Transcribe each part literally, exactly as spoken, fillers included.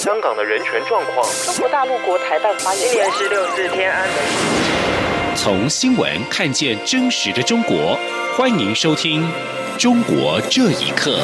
香港的人权状况。 中国大陆国台办发言人， 今年是六四天安门。 从新闻看见真实的中国，欢迎收听《中国这一刻》。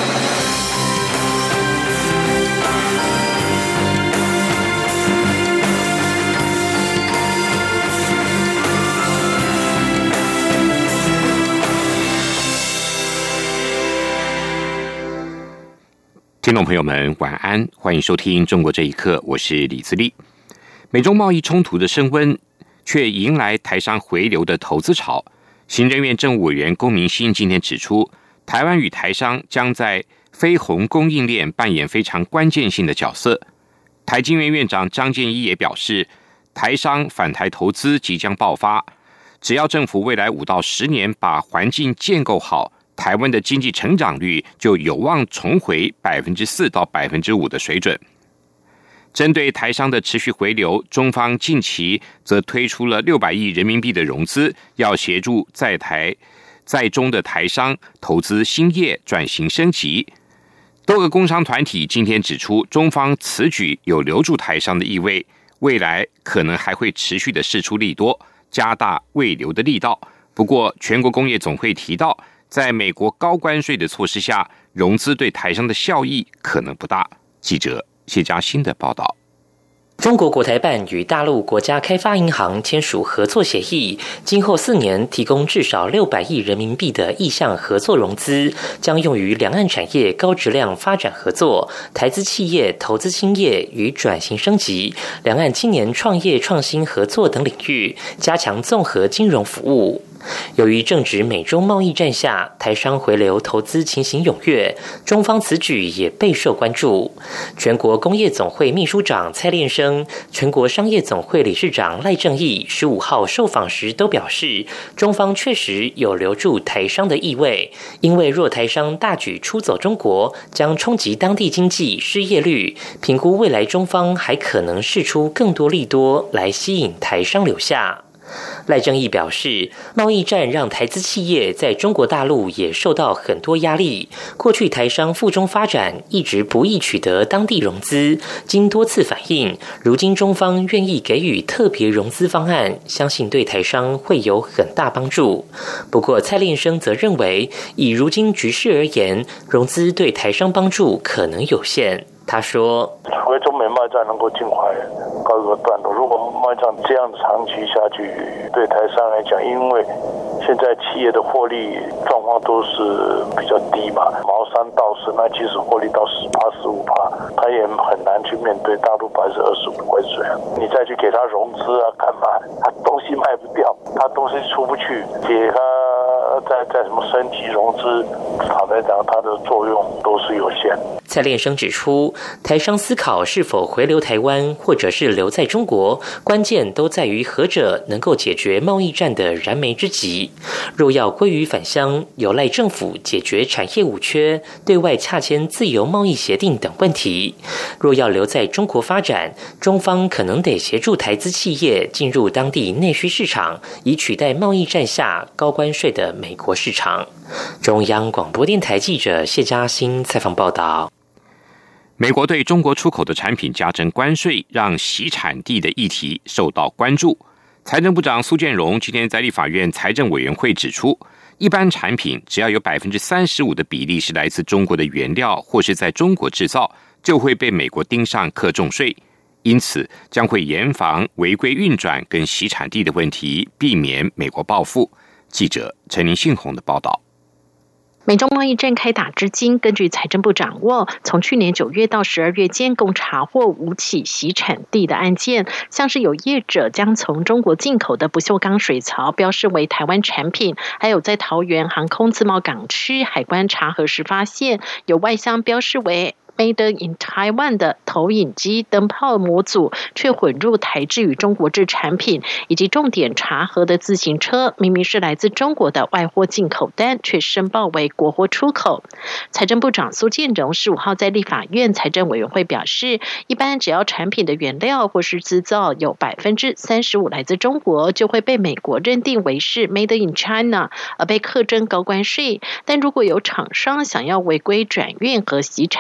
听众朋友们，晚安，欢迎收听《中国这一刻》，我是李自立。美中贸易冲突的升温，却迎来台商回流的投资潮。行政院政务委员龚明鑫今天指出，台湾与台商将在非红供应链扮演非常关键性的角色。台经院院长张建一也表示，台商返台投资即将爆发，只要政府未来五到十年把环境建构好，台湾的经济成长率就有望重回百分之四到百分之五的水准。针对台商的持续回流，中方近期则推出了六百亿人民币的融资，要协助在台在中的台商投资兴业、转型升级。多个工商团体今天指出，中方此举有留住台商的意味，未来可能还会持续的释出利多，加大慰留的力道。不过，全国工业总会提到，在美国高关税的措施下，融资对台商的效益可能不大。记者谢嘉欣的报道。 中国国台办与大陆国家开发银行签署合作协议，今后四年提供至少六百亿人民币的意向合作融资，将用于两岸产业高质量发展合作、台资企业投资兴业与转型升级、两岸青年创业创新合作等领域，加强综合金融服务。由于正值美中贸易战下，台商回流投资情形踊跃，中方此举也备受关注。全国工业总会秘书长蔡炼生、全国商业总会理事长赖正义十五号受访时都表示，中方确实有留住台商的意味，因为若台商大举出走中国，将冲击当地经济失业率，评估未来中方还可能释出更多利多来吸引台商留下。赖正义表示，贸易战让台资企业在中国大陆也受到很多压力。过去台商赴中发展一直不易取得当地融资，经多次反映，如今中方愿意给予特别融资方案，相信对台商会有很大帮助。不过蔡炼生则认为，以如今局势而言，融资对台商帮助可能有限。他说， 除非中美贸易战能够尽快告一个段落，如果贸易战这样长期下去，对台商来讲，因为现在企业的获利状况都是比较低嘛，毛三到四，那即使获利到十趴、十五趴，他也很难去面对大陆百分之二十五的关税。你再去给他融资啊，干嘛？他东西卖不掉，他东西出不去，给他再再什么升级融资，坦白讲，它的作用都是有限。 蔡炼生指出，台商思考是否回流台湾，或者是留在中国，关键都在于何者能够解决贸易战的燃眉之急。若要归于返乡，有赖政府解决产业五缺、对外洽签自由贸易协定等问题。若要留在中国发展，中方可能得协助台资企业进入当地内需市场，以取代贸易战下高关税的美国市场。中央广播电台记者谢嘉欣采访报道。 美国对中国出口的产品加征关税，让洗产地的议题受到关注。财政部长苏建荣今天在立法院财政委员会指出，一般产品只要有 百分之三十五 的比例是来自中国的原料或是在中国制造，就会被美国盯上课重税，因此将会严防违规运转跟洗产地的问题，避免美国报复。记者陈林信宏的报道。 美中贸易战开打至今，根据财政部掌握，从去年九月到十二月间，共查获五起洗产地的案件，像是有业者将从中国进口的不锈钢水槽标示为台湾产品，还有在桃园航空自贸港区海关查核时发现，有外箱标示为Made in Taiwan 的投影机灯泡模组却混入台制与中国制产品，以及重点查核的自行车明明是来自中国的外货进口单，却申报为国货出口。财政部长苏建荣十五号在立法院财政委员会表示，一般只要产品的原料或是制造有 百分之三十五 来自中国，就会被美国认定为是 Made in China 而被课征高关税，但如果有厂商想要违规转运和洗产地，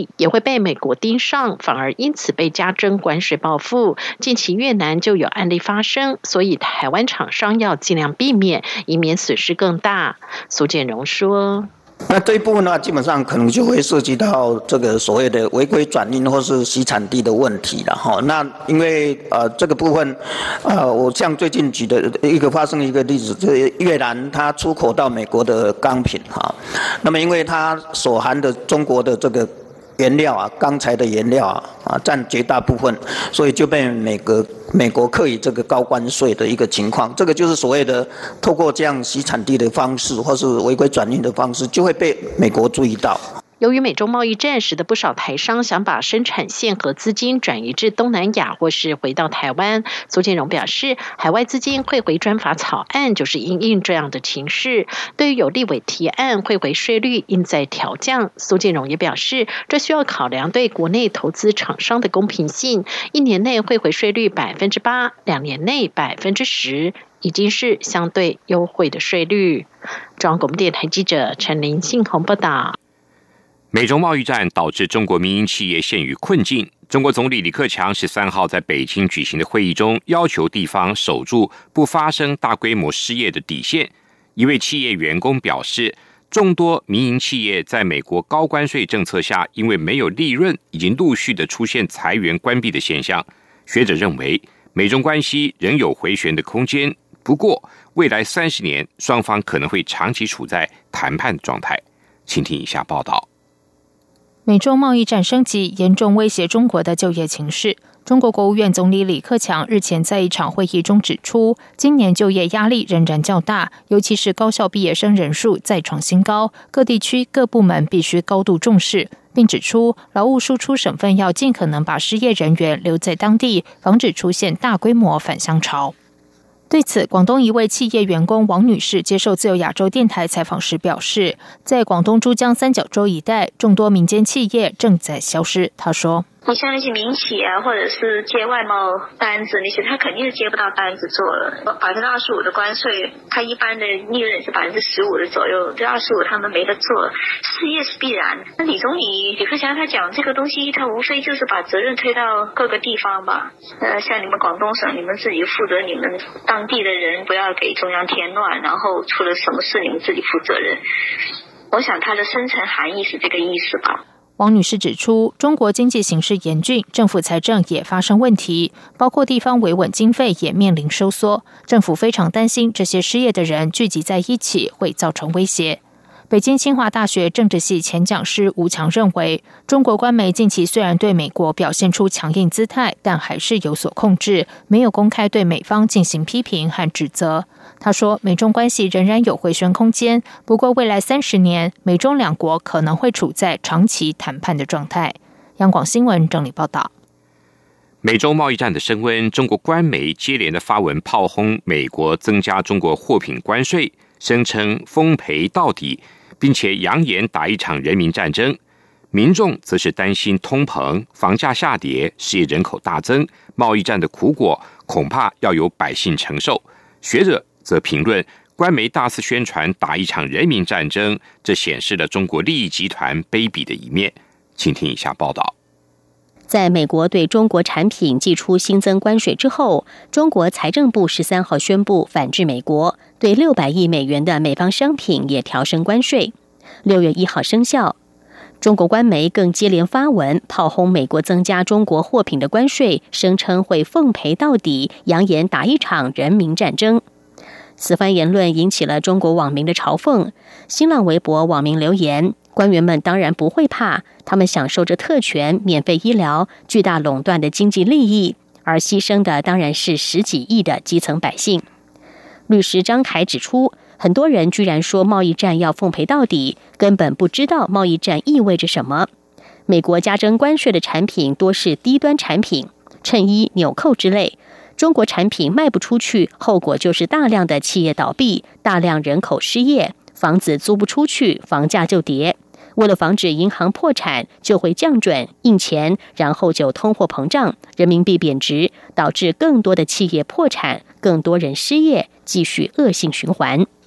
力也会被美国盯上，反而因此被加征关税报复。近期越南就有案例发生，所以台湾厂商要尽量避免，以免损失更大。苏建荣说。 那这一部分的话，基本上可能就会涉及到这个所谓的违规转运或是洗产地的问题了哈。那因为呃这个部分，呃我像最近举的一个发生的一个例子，就是越南它出口到美国的钢品哈，那么因为它所含的中国的这个原料啊，钢材的原料啊，啊占绝大部分，所以就被美国美国课以这个高关税的一个情况。这个就是所谓的透过这样洗产地的方式，或是违规转运的方式，就会被美国注意到。 由于美中贸易战使得不少台商想把生产线和资金转移至东南亚或是回到台湾，苏建荣表示，海外资金汇回专法草案就是因应这样的情势。对于有立委提案汇回税率应再调降，苏建荣也表示，这需要考量对国内投资厂商的公平性，一年内汇回税率百分之八，两年内百分之十，已经是相对优惠的税率。中央广播电台记者陈林信宏报道。 美中贸易战导致中国民营企业陷于困境。中国总理李克强十三号在北京举行的会议中，要求地方守住不发生大规模失业的底线。一位企业员工表示，众多民营企业在美国高关税政策下，因为没有利润，已经陆续的出现裁员关闭的现象。学者认为，美中关系仍有回旋的空间，不过未来三十年，双方可能会长期处在谈判状态。请听以下报道。 美中贸易战升级，严重威胁中国的就业情势。中国国务院总理李克强日前在一场会议中指出，今年就业压力仍然较大，尤其是高校毕业生人数再创新高，各地区各部门必须高度重视，并指出劳务输出省份要尽可能把失业人员留在当地，防止出现大规模返乡潮。对此，广东一位企业员工王女士接受自由亚洲电台采访时表示，在广东珠江三角洲一带，众多民间企业正在消失。她说， 你像那些民企啊，或者是接外贸单子那些，他肯定是接不到单子做了。百分之二十五的关税，他一般的利润是百分之十五的左右，这二十五他们没得做，失业是必然。那李总理李克强他讲这个东西，他无非就是把责任推到各个地方吧。呃，像你们广东省，你们自己负责你们当地的人，不要给中央添乱，然后出了什么事你们自己负责任。我想他的深层含义是这个意思吧。 王女士指出，中国经济形势严峻，政府财政也发生问题，包括地方维稳经费也面临收缩。政府非常担心这些失业的人聚集在一起会造成威胁。北京清华大学政治系前讲师吴强认为，中国官媒近期虽然对美国表现出强硬姿态，但还是有所控制，没有公开对美方进行批评和指责。他说，美中关系仍然有回旋空间，不过未来三十年，美中两国可能会处在长期谈判的状态。央广新闻整理报道。 美中贸易战的升温，中国官媒接连的发文炮轰美国增加中国货品关税，声称奉赔到底，并且扬言打一场人民战争。民众则是担心通膨、房价下跌、失业人口大增，贸易战的苦果恐怕要由百姓承受。学者则评论，官媒大肆宣传打一场人民战争，这显示了中国利益集团卑鄙的一面。请听以下报道。 在美国对中国产品祭出新增关税之后，中国财政部十三号宣布反制美国，对六百亿美元的美方商品也调升关税，六月一号生效。中国官媒更接连发文炮轰美国增加中国货品的关税，声称会奉赔到底，扬言打一场人民战争。此番言论引起了中国网民的嘲讽。新浪微博网民留言，官员们当然不会怕，他们享受着特权、免费医疗、巨大垄断的经济利益，而牺牲的当然是十几亿的基层百姓。律师张凯指出，很多人居然说贸易战要奉赔到底，根本不知道贸易战意味着什么。美国加征关税的产品多是低端产品，衬衣、纽扣之类。中国产品卖不出去，后果就是大量的企业倒闭，大量人口失业，房子租不出去，房价就跌。为了防止银行破产，就会降准、印钱，然后就通货膨胀，人民币贬值，导致更多的企业破产，更多人失业，继续恶性循环。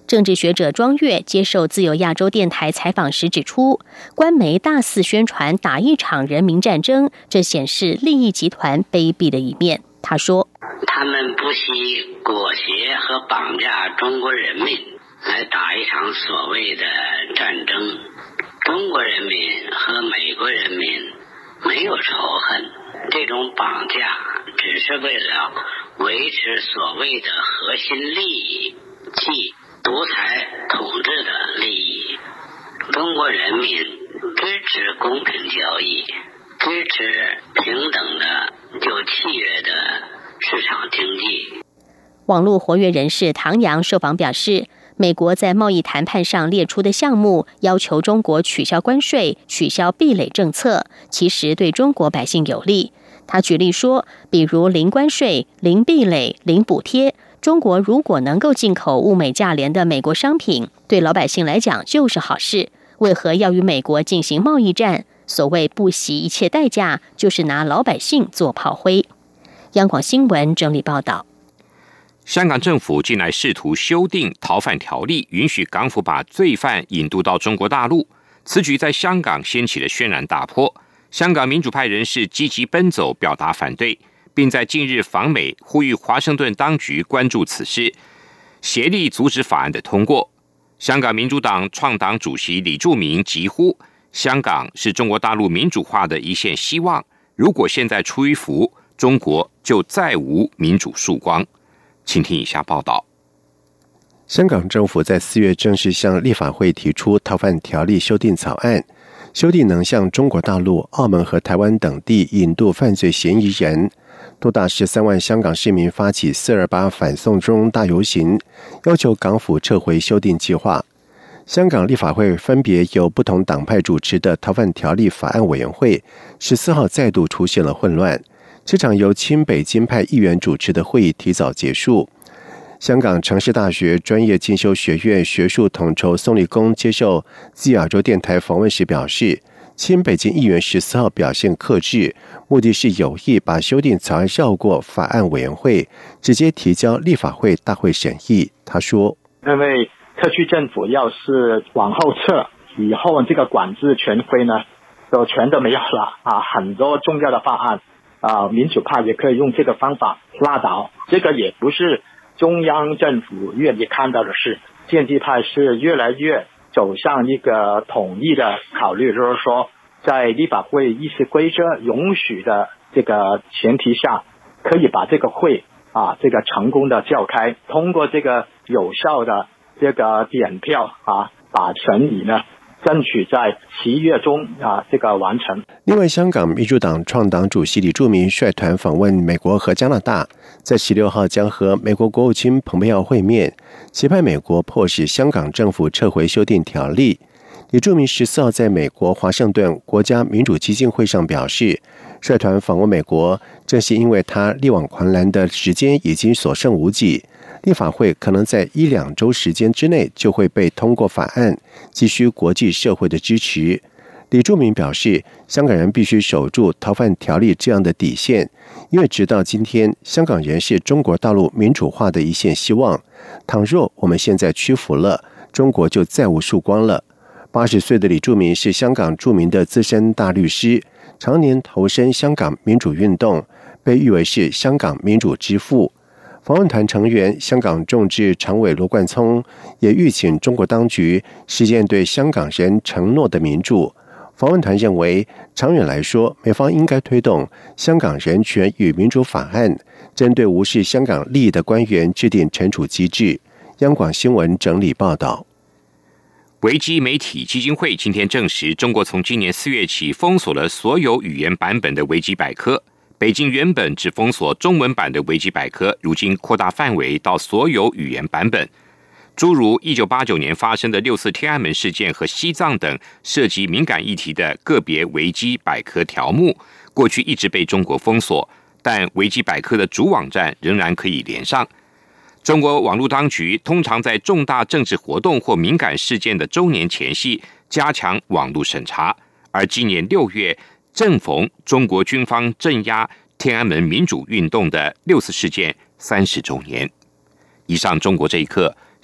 政治学者庄月接受自由亚洲电台采访时指出，官媒大肆宣传打一场人民战争，这显示利益集团卑鄙的一面。他说， 他们不惜裹挟和绑架中国人民来打一场所谓的战争。中国人民和美国人民没有仇恨，这种绑架只是为了维持所谓的核心利益，即独裁统治的利益。中国人民支持公平交易，支持平等的有契约的市场经济。 网络活跃人士唐阳受访表示，美国在贸易谈判上列出的项目要求中国取消关税、取消壁垒政策，其实对中国百姓有利。他举例说，比如零关税、零壁垒、零补贴，中国如果能够进口物美价廉的美国商品，对老百姓来讲就是好事。为何要与美国进行贸易战？所谓不惜一切代价，就是拿老百姓做炮灰。央广新闻整理报道。 香港政府近来试图修订逃犯条例，允许港府把罪犯引渡到中国大陆。此举在香港掀起了轩然大波，香港民主派人士积极奔走表达反对，并在近日访美，呼吁华盛顿当局关注此事，协力阻止法案的通过。香港民主党创党主席李柱铭疾呼，香港是中国大陆民主化的一线希望，如果现在出一服，中国就再无民主曙光。请听以下报道。 香港政府在四月正式向立法会提出逃犯条例修订草案，修订能向中国大陆、澳门和台湾等地引渡犯罪嫌疑人。多达十三万香港市民发起四二八反送中大游行，要求港府撤回修订计划。香港立法会分别由不同党派主持的逃犯条例法案委员会十四号再度出现了混乱。这场由亲北京派议员主持的会议提早结束。香港城市大学专业进修学院学术统筹宋立功接受自由亚洲电台访问时表示，亲北京议员十四号表现克制，目的是有意把修订草案绕过法案委员会，直接提交立法会大会审议。他说， 因为特区政府要是往后撤，以后这个管制权威呢就全都没有了啊，很多重要的法案啊，民主派也可以用这个方法拉倒。这个也不是中央政府愿意看到的事，建制派是越来越走向一个统一的考虑，就是说在立法会议事规则允许的这个前提下，可以把这个会啊这个成功的召开，通过这个有效的这个点票啊，把审理呢争取在七月中啊这个完成。 另外，香港民主党创党主席李柱铭率团访问美国和加拿大，在十六号将和美国国务卿蓬佩奥会面，期盼美国迫使香港政府撤回修订条例。李柱铭十四号在美国华盛顿国家民主基金会上表示，率团访问美国，正是因为他力挽狂澜的时间已经所剩无几，立法会可能在一两周时间之内就会被通过法案，急需国际社会的支持。李柱铭表示，香港人必须守住逃犯条例这样的底线，因为直到今天，香港人是中国大陆民主化的一线希望。倘若我们现在屈服了，中国就再无曙光了。八十岁的李柱铭是香港著名的资深大律师，常年投身香港民主运动，被誉为是香港民主之父。访问团成员香港众志常委罗冠聪也吁请中国当局实现对香港人承诺的民主。访问团认为，长远来说，美方应该推动香港人权与民主法案，针对无视香港利益的官员制定惩处机制。央广新闻整理报道。 维基媒体基金会今天证实，中国从今年四月起封锁了所有语言版本的维基百科。北京原本只封锁中文版的维基百科，如今扩大范围到所有语言版本。诸如一九八九年发生的六四天安门事件和西藏等涉及敏感议题的个别维基百科条目，过去一直被中国封锁，但维基百科的主网站仍然可以连上。中国网络当局通常在重大政治活动或敏感事件的周年前夕加强网络审查，而今年六月正逢中国军方镇压天安门民主运动的六四事件三十周年。以上中国这一刻，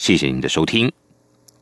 谢谢您的收听。